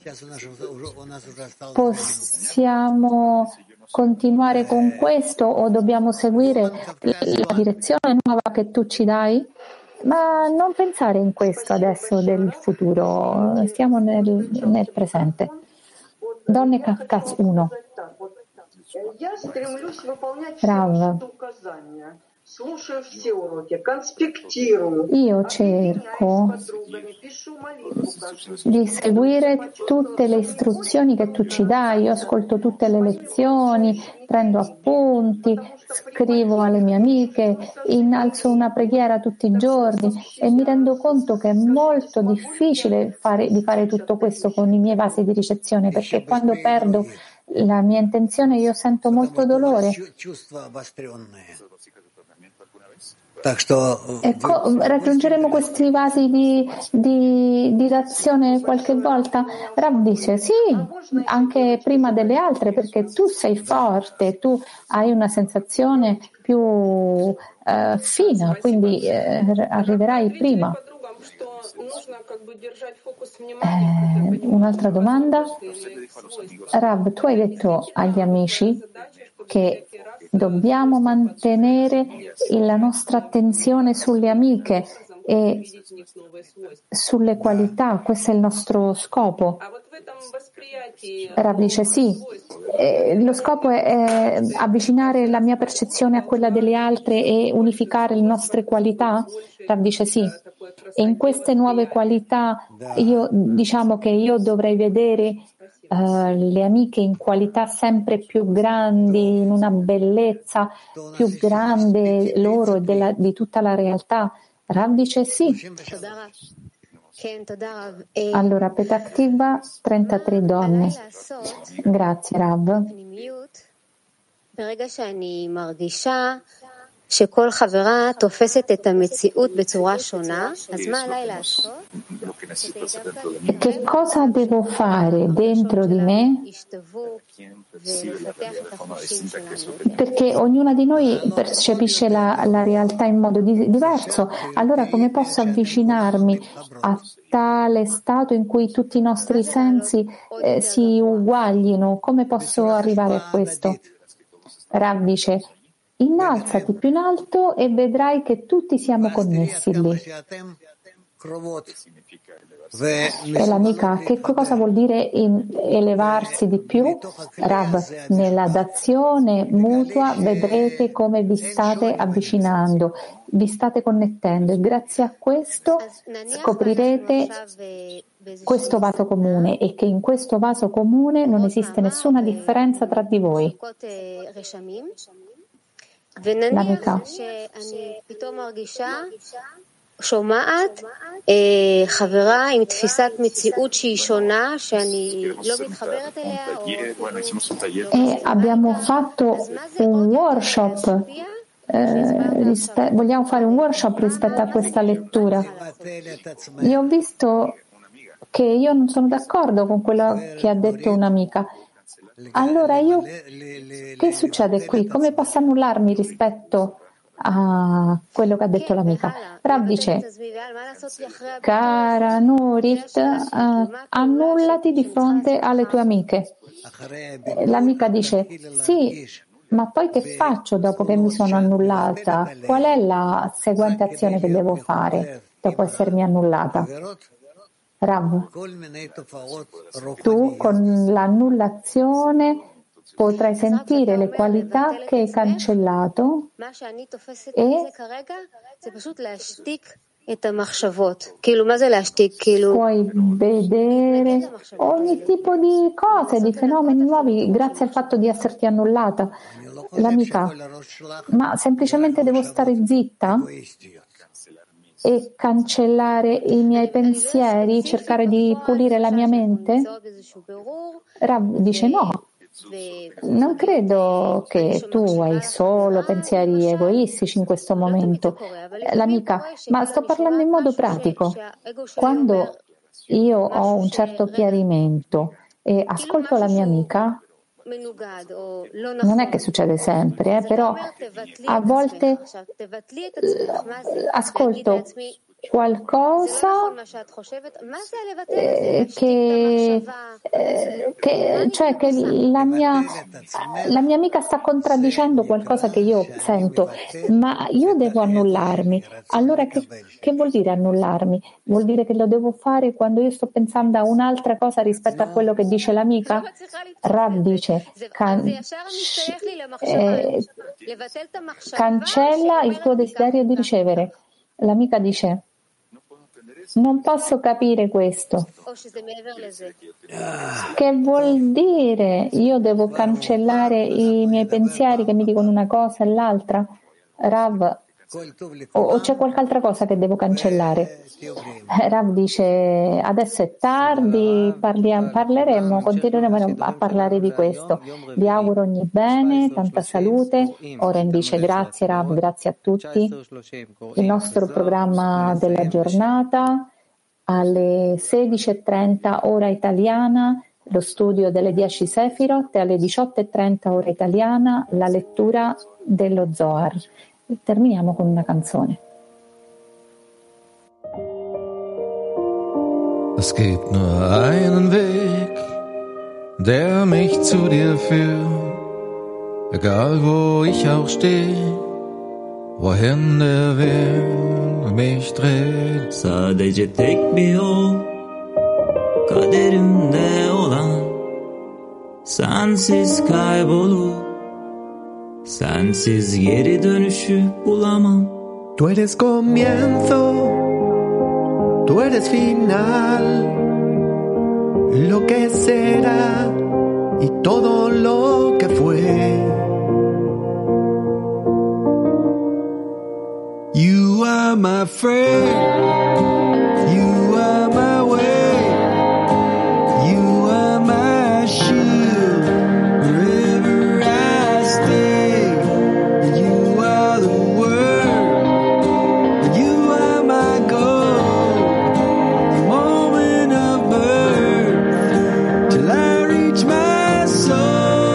Possiamo continuare con questo o dobbiamo seguire la direzione nuova che tu ci dai? Ma non pensare in questo adesso del futuro, stiamo nel presente. Donne Kafkas 1. Rav. Io cerco di seguire tutte le istruzioni che tu ci dai, io ascolto tutte le lezioni, prendo appunti, scrivo alle mie amiche, innalzo una preghiera tutti i giorni e mi rendo conto che è molto difficile di fare tutto questo con i miei vasi di ricezione, perché quando perdo la mia intenzione io sento molto dolore. Raggiungeremo questi vasi di azione qualche volta? Rav dice sì, anche prima delle altre, perché tu sei forte, tu hai una sensazione più fina, quindi arriverai prima. Un'altra domanda. Rav, tu hai detto agli amici che Dobbiamo mantenere la nostra attenzione sulle amiche e sulle qualità, questo è il nostro scopo. Rav dice sì, lo scopo è avvicinare la mia percezione a quella delle altre e unificare le nostre qualità. Rav dice sì, e in queste nuove qualità diciamo che io dovrei vedere le amiche in qualità sempre più grandi, in una bellezza più grande loro e di tutta la realtà. Rav dice sì. Allora, Petach Tikva, 33 donne. Grazie, Rav. שכל חברה תופסת את המציאות בצורה שונה, אז מה עליי לעשות? Che cosa devo fare dentro di me? Perché ognuna di noi percepisce la realtà in modo diverso. Allora come posso avvicinarmi a tale stato in cui tutti i nostri sensi si uguaglino? Come posso arrivare a questo? Rav dice: innalzati più in alto e vedrai che tutti siamo connessi lì. E l'amica, che cosa vuol dire elevarsi di più? Rav, nella dazione mutua vedrete come vi state avvicinando, vi state connettendo e grazie a questo scoprirete questo vaso comune e che in questo vaso comune non esiste nessuna differenza tra di voi. l'amica. שומעת חברה עם תפיסת מציאות שהיא שונה, שאני לא מתחברת אליה. E abbiamo fatto un workshop, vogliamo fare un workshop rispetto a questa lettura. Io ho visto che io non sono d'accordo con quello che ha detto un'amica. Allora che succede qui? Come posso annullarmi rispetto a quello che ha detto l'amica? Rav dice: cara Nurit, annullati di fronte alle tue amiche. L'amica dice: sì, ma poi che faccio dopo che mi sono annullata? Qual è la seguente azione che devo fare dopo essermi annullata? Rav, tu con l'annullazione potrai sentire le qualità che hai cancellato e puoi vedere ogni tipo di cose, di fenomeni nuovi grazie al fatto di esserti annullata. L'amica, ma semplicemente devo stare zitta e cancellare i miei pensieri, cercare di pulire la mia mente? Rav dice no. Non credo che tu hai solo pensieri egoistici in questo momento. L'amica, ma sto parlando in modo pratico. Quando io ho un certo chiarimento e ascolto la mia amica, non è che succede sempre, però a volte ascolto qualcosa che la mia amica sta contraddicendo qualcosa che io sento, ma io devo annullarmi. Allora che vuol dire annullarmi? Vuol dire che lo devo fare quando io sto pensando a un'altra cosa rispetto a quello che dice l'amica? Rav dice: cancella il tuo desiderio di ricevere. L'amica dice: non posso capire questo. Che vuol dire? Io devo cancellare i miei pensieri che mi dicono una cosa e l'altra? Rav, o c'è qualche altra cosa che devo cancellare? Rav dice: adesso è tardi, parleremo, continueremo a parlare di questo. Vi auguro ogni bene, tanta salute. Oren dice: grazie Rav, grazie a tutti. Il nostro programma della giornata alle 16:30 ora italiana, lo studio delle 10 Sefirot, e alle 18:30 ora italiana la lettura dello Zohar. Terminiamo con una canzone. Es gibt nur einen Weg, der mich zu dir führt. Egal wo ich auch stehe, wohin der Wind mich dreht. Sadece tek bir yol, kaderimde olan, sensiz kaybolup, sensiz geri dönüşü bulamam. Du eres comienzo, tú eres final, lo que será y todo lo que fue. You are my friend, you are my way, you are my shield, wherever I stay. You are the word, you are my goal, the moment of birth, till I reach my soul.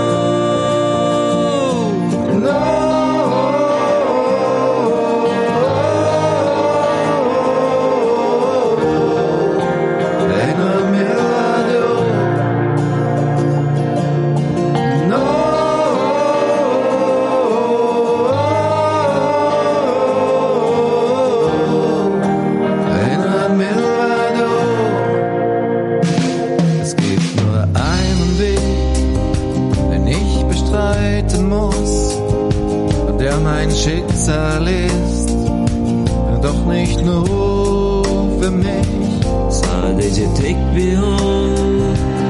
Schicksal ist, doch nicht nur für mich. Sadece tek bir yol,